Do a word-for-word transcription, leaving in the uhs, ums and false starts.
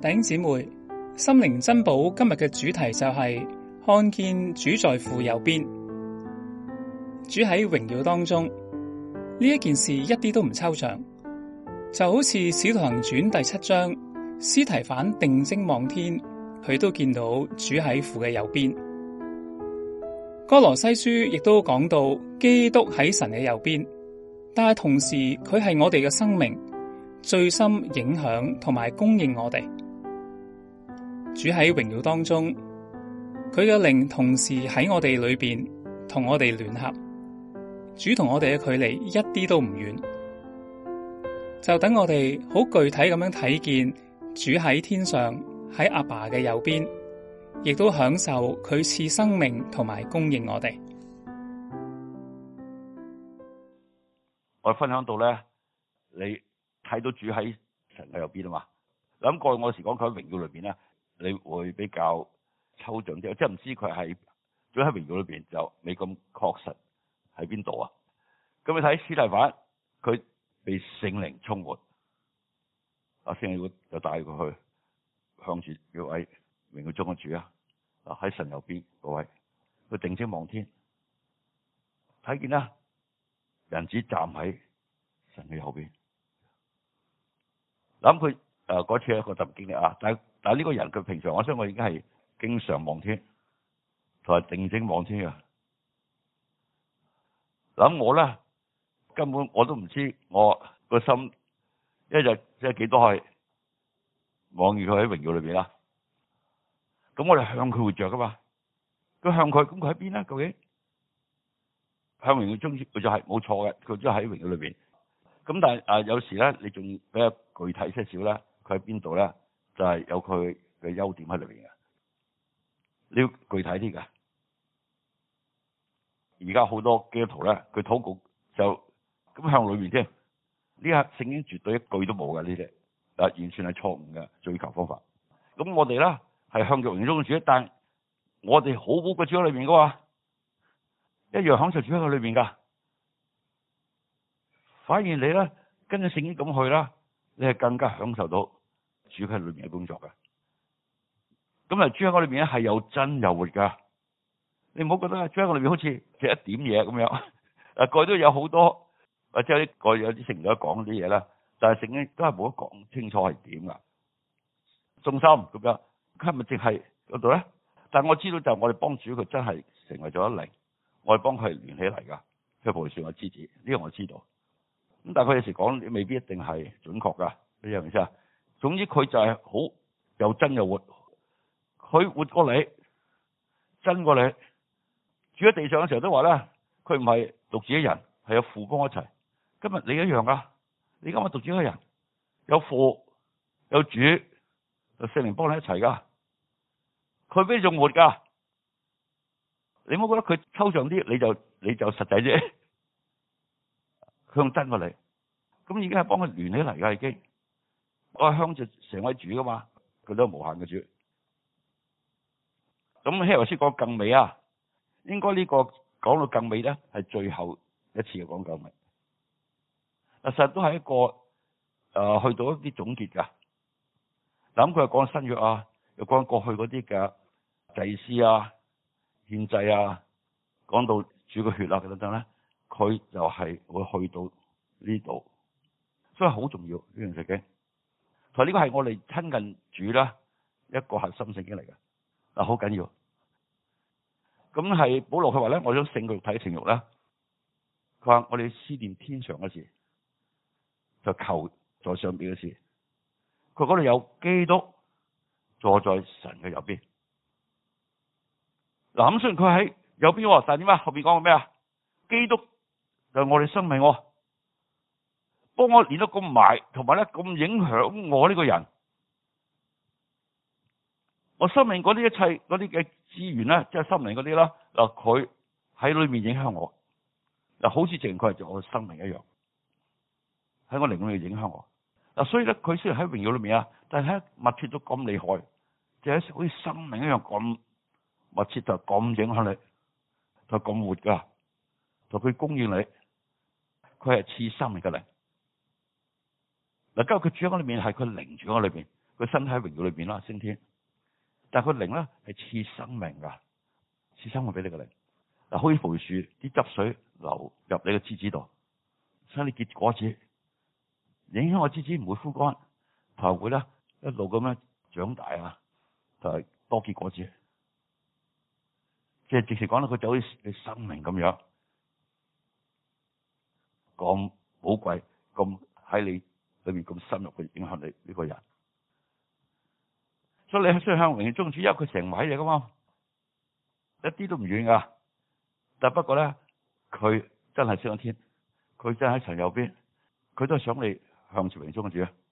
弟兄姊妹，心靈珍寶今日嘅主題就係看見主在父右邊，主喺榮耀當中。呢一件事一啲都唔抽象，就好似《使徒行傳》第七章，司提反定睛望天，佢都見到主喺父嘅右邊。歌羅西書亦都講到基督喺神嘅右邊，但係同時佢係我哋嘅生命，最深影響同埋供應我哋。主喺榮耀當中，佢嘅靈同時喺我哋裏邊同我哋聯合。主同我哋嘅距離一啲都唔遠，就等我哋好具體咁樣睇見主喺天上，喺阿爸嘅右邊，亦都享受佢賜生命同埋供應我哋。 我分享到咧，你睇到主喺神嘅右邊啊嘛。諗過我時講佢喺榮耀裏邊咧，你會比較抽象啲，即係唔知佢係主喺榮耀裏邊就未咁確實喺邊度啊。咁你睇司提反，佢被聖靈充滿，阿聖靈就帶佢去向住嗰位榮耀中嘅主啊，啊喺神右邊嗰位，佢定睛望天，睇見啦，人子站喺神嘅右邊。諗佢誒嗰次係一個特別經歷啊，但係但係呢個人佢平常，我相信我已經係經常望天，同埋定睛望天嘅。諗我咧根本我都唔知我個心一日即係幾多係望住佢喺榮耀裏邊啦。咁我哋向佢活着噶嘛，佢向佢，咁佢喺邊咧？究竟向榮耀中佢就係冇錯嘅，佢都喺榮耀裏邊。咁但係啊，有時咧你仲比較具體些少咧，佢喺邊度咧？就係、是、有佢嘅優點喺裏邊嘅。你要具體啲噶。而家好多基督徒咧，佢禱告就咁向裏面添。呢下聖經絕對一句都冇嘅呢啲，啊完全係錯誤嘅追求方法。咁我哋咧係向着榮耀中嘅主，但係我哋好寶貴主喺裏面噶嘛，一樣享受主喺佢裏面噶。反而你咧跟住聖經咁去啦，你係更加享受到主喺裏面嘅工作嘅。咁啊，主喺我裏面咧係又真又活噶。你唔好覺得主喺我裏面好似只一點嘢咁樣。啊，過去都有好多或者有啲過去有啲聖經講啲嘢啦，但係聖經都係冇得講清楚係點噶。中心咁樣，佢係咪淨係嗰度咧？但係我知道就係我哋幫主佢真係成為咗一靈，我哋幫佢聯起嚟噶，佢葡萄樹嘅枝子，呢個我知道。咁但係佢有時講未必一定係準確噶，你明唔明啊？總之佢就係好又真又活，佢活過你，真過你。住喺地上嘅時候都話咧，佢唔係獨自一人，係有父幫我一齊。今日你一樣噶，你今日獨自一個人，有父有主，有聖靈幫你一齊噶，佢比你仲活噶。你唔好覺得佢抽象啲，你就你就實際啫。佢用真過你，咁已經係幫佢聯起嚟噶，已經。我係向住成位主噶嘛，佢都係無限嘅主。咁希伯來書講更美啊，應該呢個講到更美咧，係最後一次嘅講更美。其實都係一個誒、呃，去到一啲總結噶。嗱，咁佢又講新約啊，又講過去嗰啲嘅祭司啊、獻祭啊，講到主嘅血啊等等咧。佢就係會去到呢度，所以好重要呢樣聖經。同埋呢個係我哋親近主啦，一個核心聖經嚟嘅，嗱好緊要。咁係保羅佢話咧，我想勝過肉體情慾咧。佢話我哋思念天上嘅事，就求在上邊嘅事。佢嗰度有基督坐在神嘅右邊。嗱咁雖然佢喺右邊，但係點啊？後邊講個咩啊？基督就係我哋生命，幫我連得咁埋，同埋咧咁影響我呢個人，我生命嗰啲一切嗰啲嘅資源咧，即係心靈嗰啲啦，嗱佢喺裏面影響我，嗱好似淨佢係做我嘅生命一樣，喺我靈裏面影響我。嗱所以咧，佢雖然喺榮耀裏面啊，但係喺密切到咁厲害，就係好似生命一樣咁密切，就咁影響你，就咁活噶，就佢供應你。佢係賜生命嘅靈，嗱，今日佢住喺我裏面，係佢靈住喺我裏邊， 佢身體喺榮耀裏邊啦，升天。但係佢靈咧係賜生命噶，賜生命俾你個靈。嗱，好似葡萄樹啲汁水流入你個枝子度，使你結果子，影響我枝子唔會枯乾，同埋會咧一路咁樣長大啊，就係多結果子。即係直情講到佢就好似你生命咁樣，咁寶貴，咁喺你裏面咁深入去影響你呢個人。所以你需要向榮耀中主，因為佢成位嚟噶嘛，一啲都唔遠噶。但不過咧，佢真係升咗天，佢真係喺神右邊，佢都係想你向住榮耀中主。